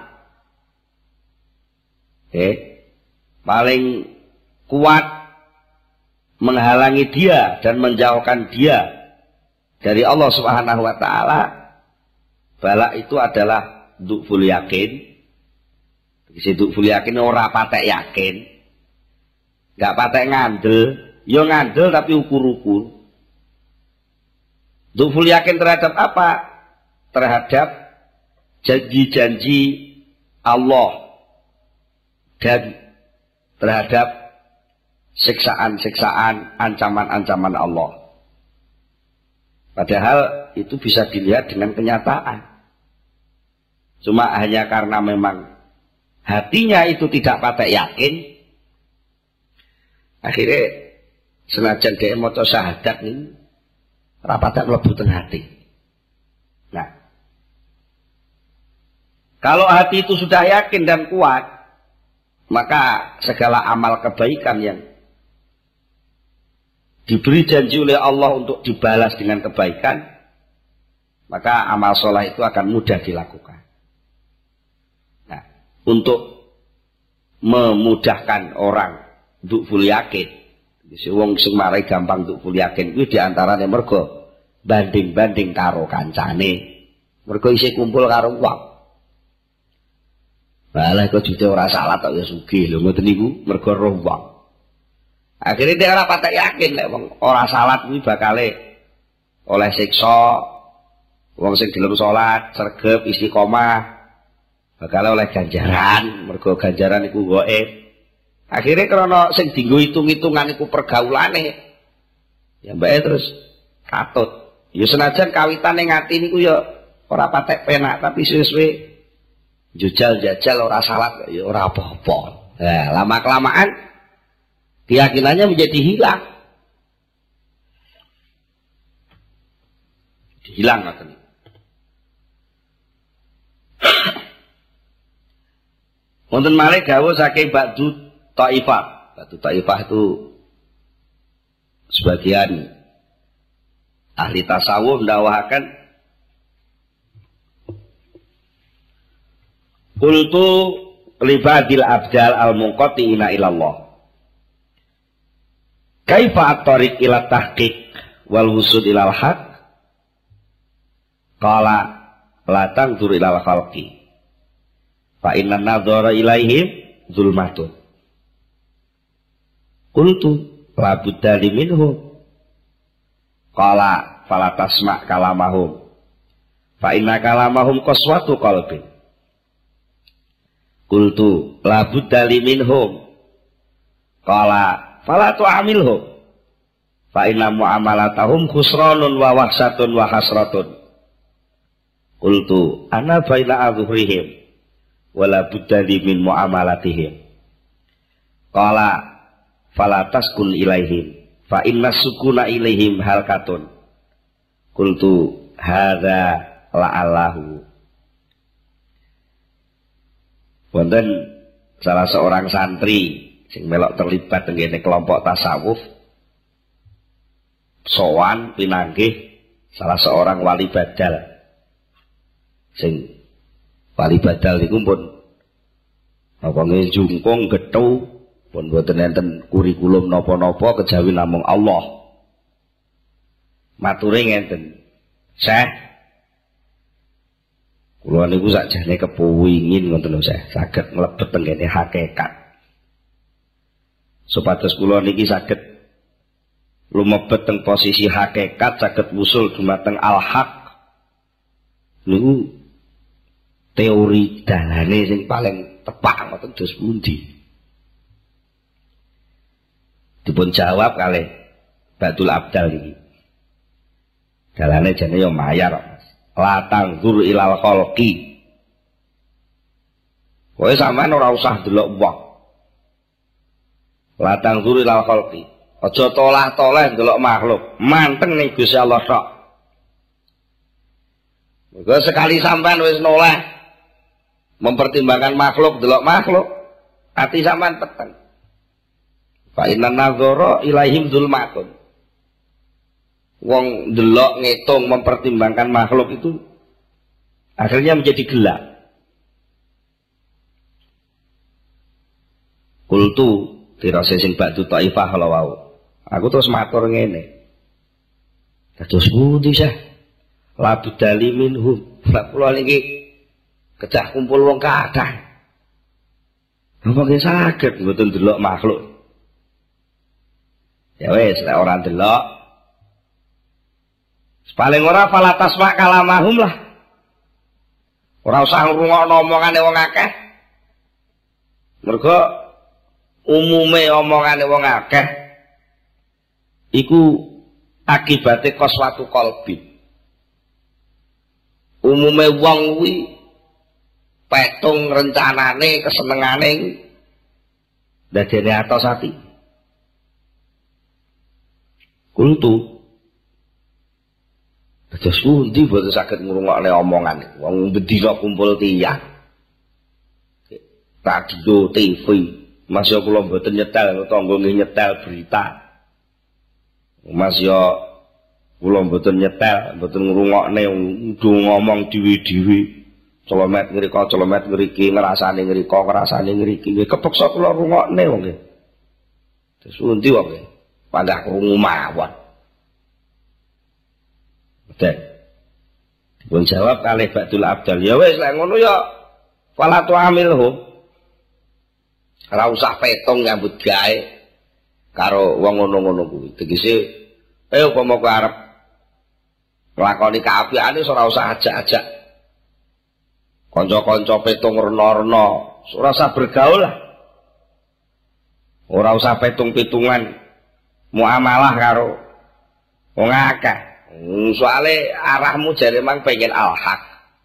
[SPEAKER 1] paling kuat menghalangi dia dan menjauhkan dia dari Allah Subhanahu wa taala. Balak itu adalah du'ful yakin. Isi du'ful yakin ora patek yakin, gak patek ngandel, yo ngandel tapi ukur-ukur. Du'ful yakin terhadap apa? Terhadap janji-janji Allah dan terhadap siksaan-siksaan, ancaman-ancaman Allah. Padahal itu bisa dilihat dengan kenyataan. Cuma hanya karena memang hatinya itu tidak patek yakin, akhirnya senajan dia maca syahadat ini rapatak mlebu teng hati. Nah, kalau hati itu sudah yakin dan kuat, maka segala amal kebaikan yang diberi janji oleh Allah untuk dibalas dengan kebaikan, maka amal soleh itu akan mudah dilakukan. Nah, untuk memudahkan orang untuk full yakin, wong sing marai gampang untuk full yakin itu diantaranya mergo banding-banding karo kancane, mergo isih kumpul karo wong. Balah kok jute ora salah tok ya sugih lho ngoten niku mergo roh wong. Akhirnya dia ora patek yakin lek wong ora salat kuwi bakale oleh siksa. Wong sing gelem salat, sregep, istiqomah bakale oleh ganjaran, mergo ganjaran iku gaib. Akhirnya krana sing dienggo hitung-hitungan iku pergaulane, ya mbake terus katut. Ya senajan kawitane ngati niku ya ora patek penak, tapi suwe-suwe jajal ora salat ya ora apa-apa. Nah, lama-kelamaan keyakinannya menjadi hilang. Hilang ngoten. Wonten malih dawuh saking Ba'du Taifah. Ba'du Taifah itu sebagian ahli tasawuf mendakwakan qultu libadil abdal al-munqati'ina ilallah kaifa at-tariq ila tahqiq wal wusud ilal haq qala la tanzur ilal khalqi fa inna nadhara ilaihim zulmatun qultu la budda minhum qala fala tasma' kalamahum fa inna kalamahum qaswatu qalbin Qultu la budda li minhum. Qala fala tu'amilhum. Fa inna mu'amalatahum khusranun wa wahsatun wa hasratun. Qultu ana baina adhurihim wala budda li min mu'amalatihim. Qala fala taskun ilaihim fa inna sukuna ilaihim halkatun. Qultu hadza la'allahu. Wonten salah seorang santri sing melok terlibat tengene kelompok tasawuf sowan pinanggih salah seorang wali badal. Sing wali badal niku pun apa nggih jungkung gethu pun boten enten kurikulum napa-napa kejawi namung Allah. Mature ngenten, Syekh, kula niku sakjane kepengin ngoten lho Syekh, saged mlebet tengene hakikat. Supados kula niki saged lumebet teng posisi hakikat, saged wusul dumateng al-haq. Niku teori dalane sing paling tepak ngoten dos pundi? Dipun jawab kalih Batul Abdal iki. Dalane jane yo mayar, Mas. La tangzur ilal khalqi. Kowe sampean ora usah delok wong. La tangzur ilal khalqi. Aja tolah-toleh delok makhluk, manteng ning Gusti Allah tok. Mergo sekali sampean wis noleh mempertimbangkan makhluk, delok makhluk, ati sampean peteng. Fa inna nadzara ilaihim dzulmatun. Wong delok ngitung mempertimbangkan makhluk itu akhirnya menjadi gelap. Kultu tirase sing ba'du taifah kalau wau. Aku terus matur ngene. Kados pundi Syekh? La budali minhum. Lah kula niki kecah kumpul wong kathah. Napa nggih saged mboten delok makhluk. Ya wis lek ora delok paling ora fala tasma kalamahum lah. Ora usah ngrungokno omongane wong akeh. Mergo umume omongane wong akeh iku akibate qaswatu qalbi. Umume wong kuwi petung rencanane, kesenengane dadene atos ati. Kultu terus pundi boten saged ngrungokne omongan wong bendina kumpul tiyang. Radio, TV, Mas yo kula mboten nyetel, tangga nggih nyetel berita. Mas yo kula mboten nyetel, mboten ngrungokne ngomong dhewe-dhewe. Celomet ngrika, celomet ngriki, ngrasane ngrika, ngrasane ngriki. Nggih kepeksa kula rungokne wong nggih. Terus pundi wong nggih? Panggah krungu mawon. Betul. Dipun jawab kalih Ba'dul Abdal. Ya wis lek ngono ya fala tu'amilhum. Ora usah petong nyambut gawe karo wong ngono-ngono kuwi. Tegese upama kowe arep nglakoni kaapiane ora usah ajak-ajak kanca-kanca petong rena-rena, ora usah bergaul lah. Ora usah petung-pitungan muamalah karo wong akeh. Soale arahmu jare mang pengen al-haq.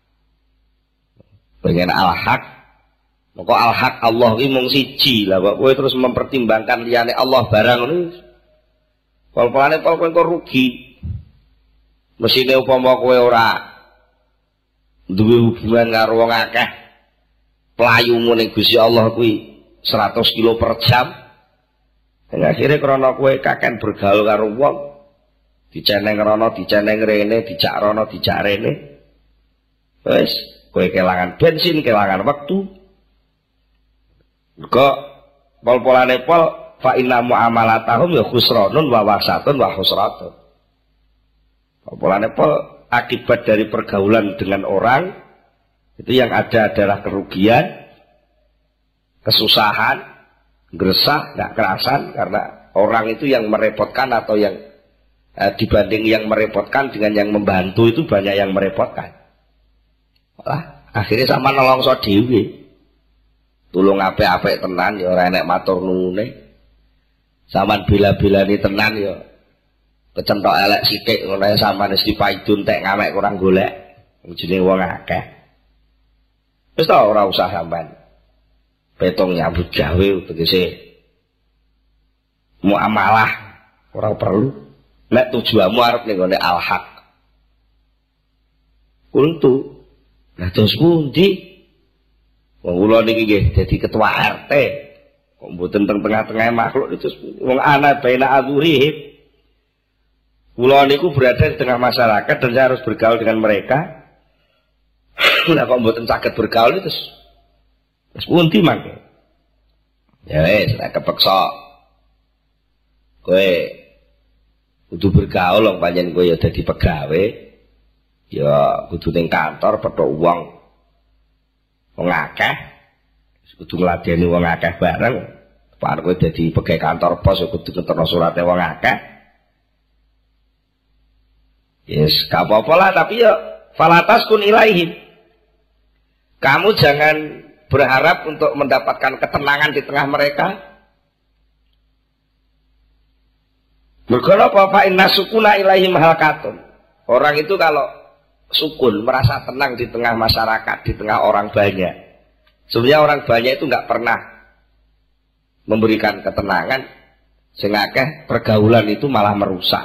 [SPEAKER 1] Pengen al-haq. Maka al-haq Allah iki mung siji lah kok kowe terus mempertimbangkan liyane Allah barang ngono. Pol-polane pol kowe rugi. Mesine upama kowe ora duwe hubungan karo wong akeh, playumu ning Gusti Allah kuwi 100 kilo per jam. Dan akhirnya krana kowe kaken bergaul karo wong, diceneng rono, diceneng rene, dijak rono, dijak rene. Wis, kowe kelangan bensin, kelangan waktu. Mergo pol-polane pol fa inna muamalatahum ya khusranun wa wasatun wa husratun. Pol-polane pol akibat dari pergaulan dengan orang itu yang ada adalah kerugian, kesusahan, gersah, nggak kerasan karena orang itu yang merepotkan atau yang dibanding yang merepotkan dengan yang membantu itu banyak yang merepotkan. Malah akhirnya sama nolongso dhewe. tulung apik-apik tenan ya ora enek matur nuwune. Sampeyan bila-bilani tenan ya kecentok elek sithik ngono ae sampeyan wis dipaidun tek ngamek kurang golek. Jenenge wong akeh. Wis ta ora usah sampeyan petong nyambut gawe tegese muamalah ora perlu. Nek tujuanmu arep ning gone al-haq. Kultu. Nah terus pundi? Wong kula niki nggih dadi ketua RT. Kok mboten teng tengah-tengah makhluk itu wong ana baina adzurihim. Kula niku berada di tengah masyarakat dan saya harus bergaul dengan mereka. Lah kok mboten saged bergaul itu terus pundi mangke? Ya wis nek kepeksa kowe kudu bergaul wong pancen kowe ya dadi pegawe ya kudu ning kantor petuk wong akeh kudu ngladeni wong akeh bareng bar kowe dadi pegawai kantor pos ya kudu ngeterno surate wong akeh yes gak apa-apa lah tapi ya falatas kun ilaihim kamu jangan berharap untuk mendapatkan ketenangan di tengah mereka. Mergo apa inna sukuna ilaihim halkatun. Orang itu kalau sukun merasa tenang di tengah masyarakat, di tengah orang banyak. Sebenarnya orang banyak itu nggak pernah memberikan ketenangan, sehingga pergaulan itu malah merusak.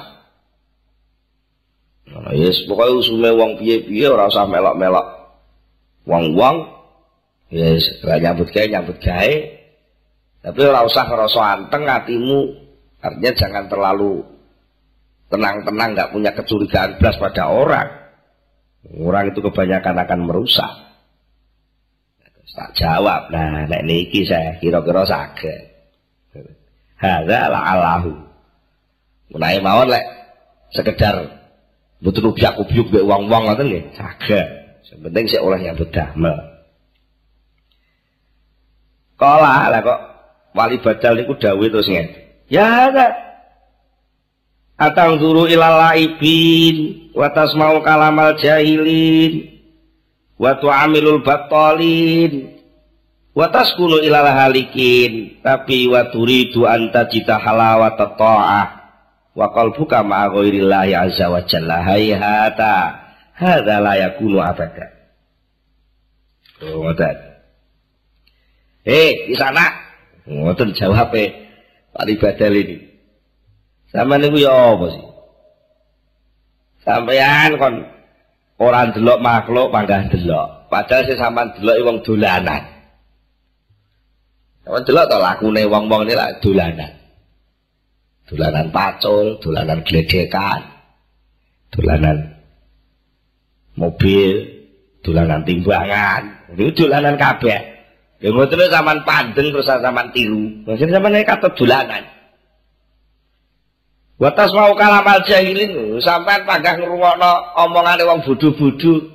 [SPEAKER 1] Nah, yes, pokoknya usume wong piye-piye ora usah melok-melok wong-wong. Yes, nyambut gawe. Tapi ora usah ngerasa anteng hatimu. Artinya jangan terlalu tenang-tenang, nggak punya kecurigaan belas pada orang. Orang itu kebanyakan akan merusak. Tak jawab. Nah, nek niki saya kira-kira saged. Hadza la'allahu. Menawi mawon lek sekedar mboten ubyak-ubyuk mbek wong-wong ngoten nggih, saged. Sing penting sik oleh nyambut damel. Kala lah kok wali badal niku dawuh terus ngene. Ya ada atang zuru ilal laibin wa tasma'u kalamal jahilin wa tu'amilul battalin wa taskunu ilal halikin tapi wa turidu anta jita halawata ta'ah wa qalbuka ma'a ghairillahi azza wa jalla hayhata hadza la yakunu abada. Ngoten. Di sana ngoten jawabe Pak Badal ini. Sampeyan niku ya apa sih? Sampeyan kon ora ndelok makhluk panggah delok. Padahal sing sampean delok wong dolanan. Sampeyan delok to lakune wong-wong iki lak dolanan. Dolanan pacul, dolanan gledekan, dolanan mobil, dolanan timbangan. Niku dolanan kabeh. Ya ngoten lho sampean pandeng terus sampean tiru. Maksud sampean katut dolanan. Wa tasma'u kalamal jahilin, sampean panggah ngrungokno omongane wong bodho-bodho.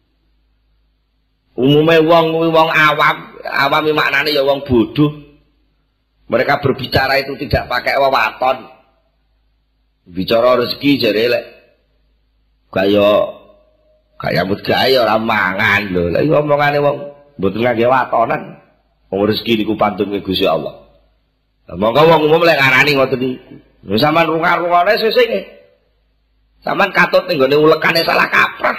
[SPEAKER 1] Umume wong awam, awam maknane ya wong bodoh. Mereka berbicara itu tidak pakai wewaton. Bicara rezeki jare lek kaya nyambut gawe ora mangan lho. Lah iki omongane wong mboten ngangge watonan. Wong rezeki niku pantun Gusti Allah. Lah monggo wong umum lek ngarani ngoten niku. Lha sampean rungar-rungane sesuk nggih. Sampean katut ning gone ulekane salah kaprah.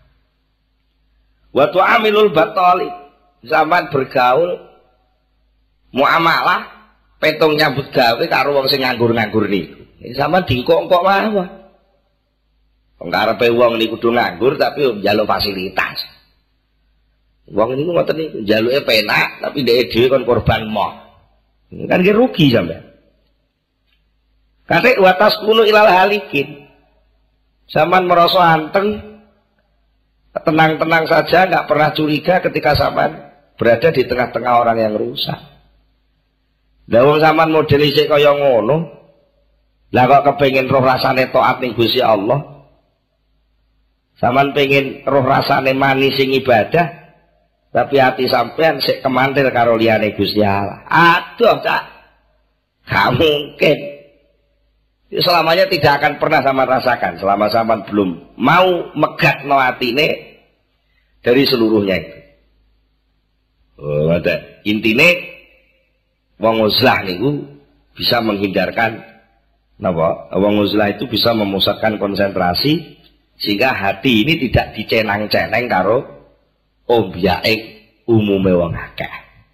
[SPEAKER 1] Wa tu'amilul batali. Sampean bergaul muamalah petung nyambut gawe karo wong sing nganggur-nganggur niku. Sampean dikok-kok mawon. Wong karepe wong niku kudu nganggur tapi njaluk fasilitas. Wong niku ngoten niku, njaluke penak tapi dhek dhewe kon korban moh. Kan ki rugi sampean. Kate watas kuno ilal halikin. Sampean merasa anteng, tenang-tenang saja, nggak pernah curiga ketika sampean berada di tengah-tengah orang yang rusak. Lah wong sampean model isih kaya ngono, lah kok kepengin roh rasane taat ning Gusti Allah. Sampean pengen roh rasane manis sing ibadah, tapi hati sampean sik kemantil karo liyane Gusti Allah. Aduh, Cak. Gak mungkin. Selamanya tidak akan pernah sama rasakan selama sampean belum mau megat no atine dari seluruhnya itu. Intine wong uzlah niku bisa menghindharkan napa? Wong uzlah itu bisa memusatkan konsentrasi sehingga hati ini tidak dicenang-ceneng karo obyake umume wong akeh.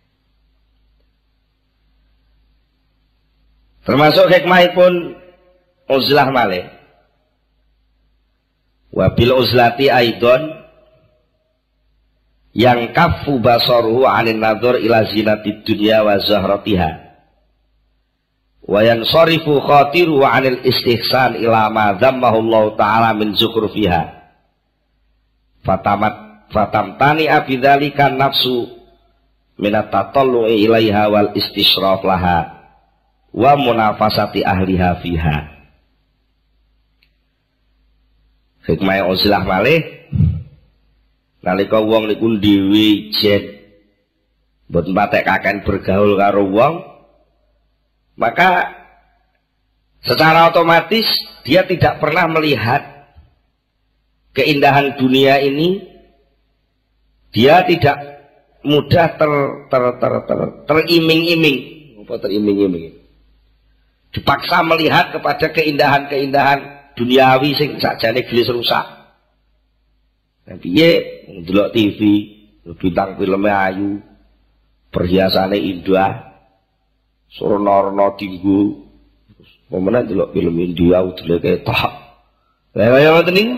[SPEAKER 1] Termasuk hikmahipun uzlah malih. Wabil uzlati aidon yang kafu basaruhu anin nadhur ila zinatid dunya wa zahratiha wa yansarifu khatiru anil istihsan ila ma dzammahu Allah taala min zukhrufiha fatamtani abidzalika nafsu minat tatallu'i ilaiha wal istishraf laha wa munafasati ahliha fiha. Hikmah uzlah malih nalika wong niku dhewe jen mboten patek kaken bergaul karo wong, maka secara otomatis dia tidak pernah melihat keindahan dunia ini. Dia tidak mudah teriming-iming, apa teriming-iming, dipaksa melihat kepada keindahan-keindahan duniawi sing sakjane gelis rusak. Piye ndelok TV, bintang filmnya ayu, perhiasane indah, surna-rna tinggu, pemenang ndelok film India udule ketok. Lah kaya ngoten niku.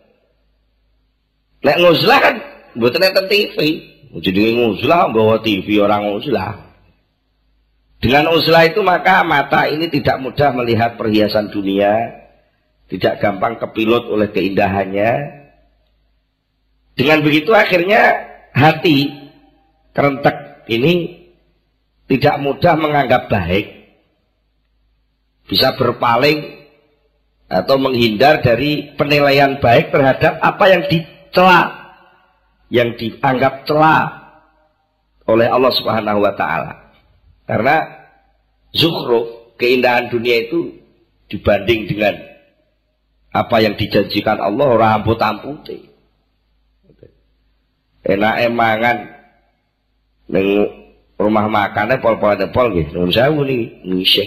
[SPEAKER 1] Nek nguzlah kan mboten enten TV. Jenenge nguzlah nggawa TV orang nguzlah. Dengan uzlah itu maka mata ini tidak mudah melihat perhiasan dunia, tidak gampang kepilut oleh keindahannya. Dengan begitu akhirnya hati kerentek ini tidak mudah menganggap baik, bisa berpaling atau menghindar dari penilaian baik terhadap apa yang dicela, yang dianggap cela oleh Allah Subhanahu wa taala. Karena zukhruf, keindahan dunia itu dibanding dengan apa yang dijanjikan Allah ora amput-amputé. Enak emangan ning rumah makannya pol-polan pol nggih nuwun sewu niki ngising.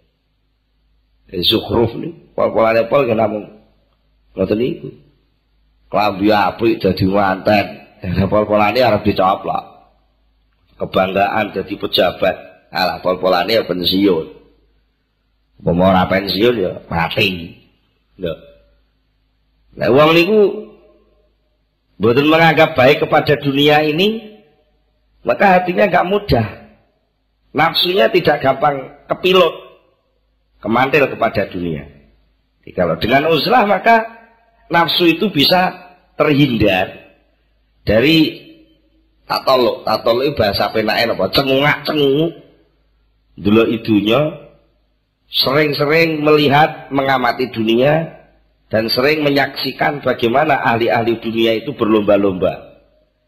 [SPEAKER 1] Zukhruf niki pol-polan pol nggih namung ngoten niku. Klambi apik dadi manten, pol-polane arep dicoplok. Kebanggaan jadi pejabat, alah pol-polane ya pensiun. Upama ora pensiun ya mati. Lho. Lah wong niku mboten menganggap baik kepada dunia ini, maka hatinya gak mudah, nafsunya tidak gampang kepilut, kemantil kepada dunia. Jadi kalau dengan uzlah maka nafsu itu bisa terhindar dari tatoluk. Tatoluk itu bahasa penake apa? Cengungak-cengunguk delok idunya, sering-sering melihat mengamati dunia, dan sering menyaksikan bagaimana ahli-ahli dunia itu berlomba-lomba.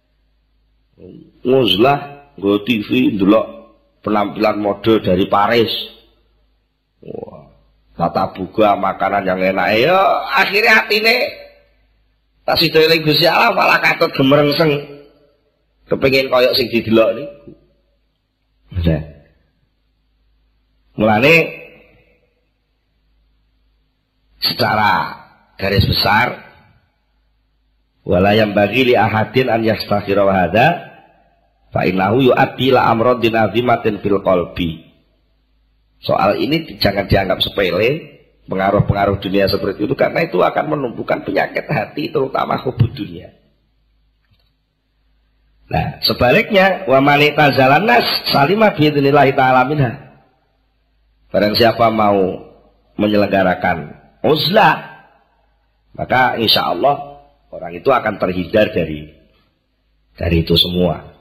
[SPEAKER 1] Nguzlah, nggo TV, ndelok penampilan mode dari Paris. Wah, tata buka makanan yang enak. Ya, akhirnya hatine tak sida eling Gusti Allah malah katut gemerengseng. Kepengin koyok sing didelok niku. Nah. Mulane secara garis besar wala yang bagi li ahadin an yastakhira wa hadza fa innahu yu'addi la amradin azimatin fil qalbi. Soal ini jangan dianggap sepele, pengaruh-pengaruh dunia seperti itu, karena itu akan menumbuhkan penyakit hati, terutama hubud dunia. Nah, sebaliknya wa man tazalan nas salima bi idznillah taala minha. Barang siapa mau menyelenggarakan uzlah, maka insya Allah orang itu akan terhindar dari itu semua.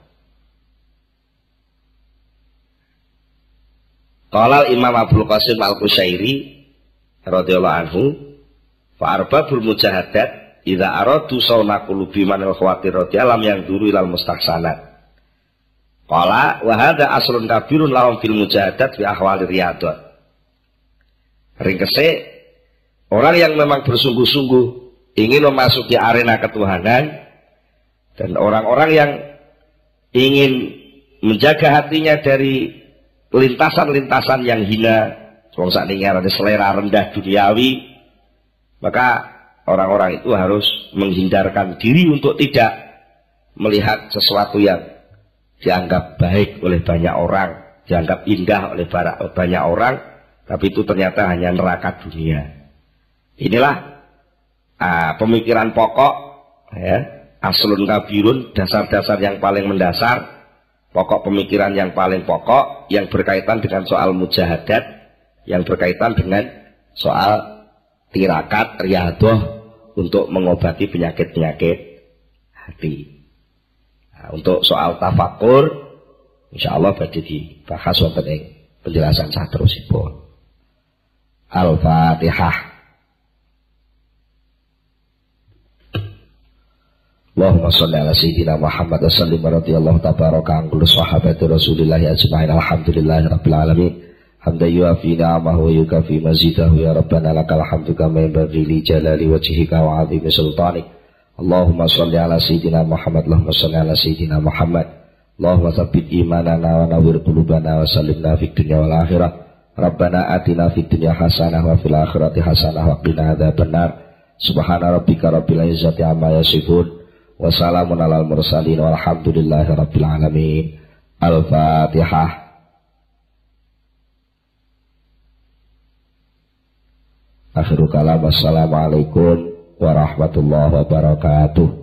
[SPEAKER 1] Qala Imam Abdul Qasim Al-Qushairi radhiyallahu anhu, fa arbabul mujahadat idza aradu sawna qulubi man al-khawatir radhiyallahu yang duru ilal mustahsanat. Qala wa hadza aslun kabirun lahum fil mujahadat fi ahwali riyadat. Ringkese orang yang memang bersungguh-sungguh ingin memasuki arena ketuhanan, dan orang-orang yang ingin menjaga hatinya dari lintasan-lintasan yang hina, wong sakniki ngarane selera rendah duniawi, maka orang-orang itu harus menghindarkan diri untuk tidak melihat sesuatu yang dianggap baik oleh banyak orang, dianggap indah oleh banyak orang, tapi itu ternyata hanya neraka dunia. Inilah pemikiran pokok, ya, aslun kabirun, dasar-dasar yang paling mendasar, pokok pemikiran yang paling pokok yang berkaitan dengan soal mujahadat, yang berkaitan dengan soal tirakat, riadoh untuk mengobati penyakit-penyakit hati. Nah, untuk soal tafakur, insya Allah badhe dibahas wonten ing penjelasan saterusipun. Al-Fatihah. Allahumma sholli ala sayyidina Muhammad wa sallim radhiyallahu tabaraka an kulli sahabati Rasulillah ajma'in. Alhamdulillahi rabbil alamin. Hamdan yuafi ni'amahu wa yukafi mazidahu ya rabbana lakal hamdu kama yanbaghi li jalali wajhika wa 'azimi sultanik. Allahumma sholli ala sayyidina Muhammad. Allahumma sholli ala sayyidina Muhammad. Allahumma tsabbit imanana wa nawwir qulubana wa sallimna fid dunya wal akhirah. Rabbana atina fid dunya hasanah wa fil akhirati hasanah wa qina adzabannar. Subhana rabbika rabbil izzati amma yasifun. Wassalamun alal mursalin walhamdulillahi rabbil alamin. Al-Fatihah. Akhirul kalam. Assalamualaikum warahmatullahi wabarakatuh.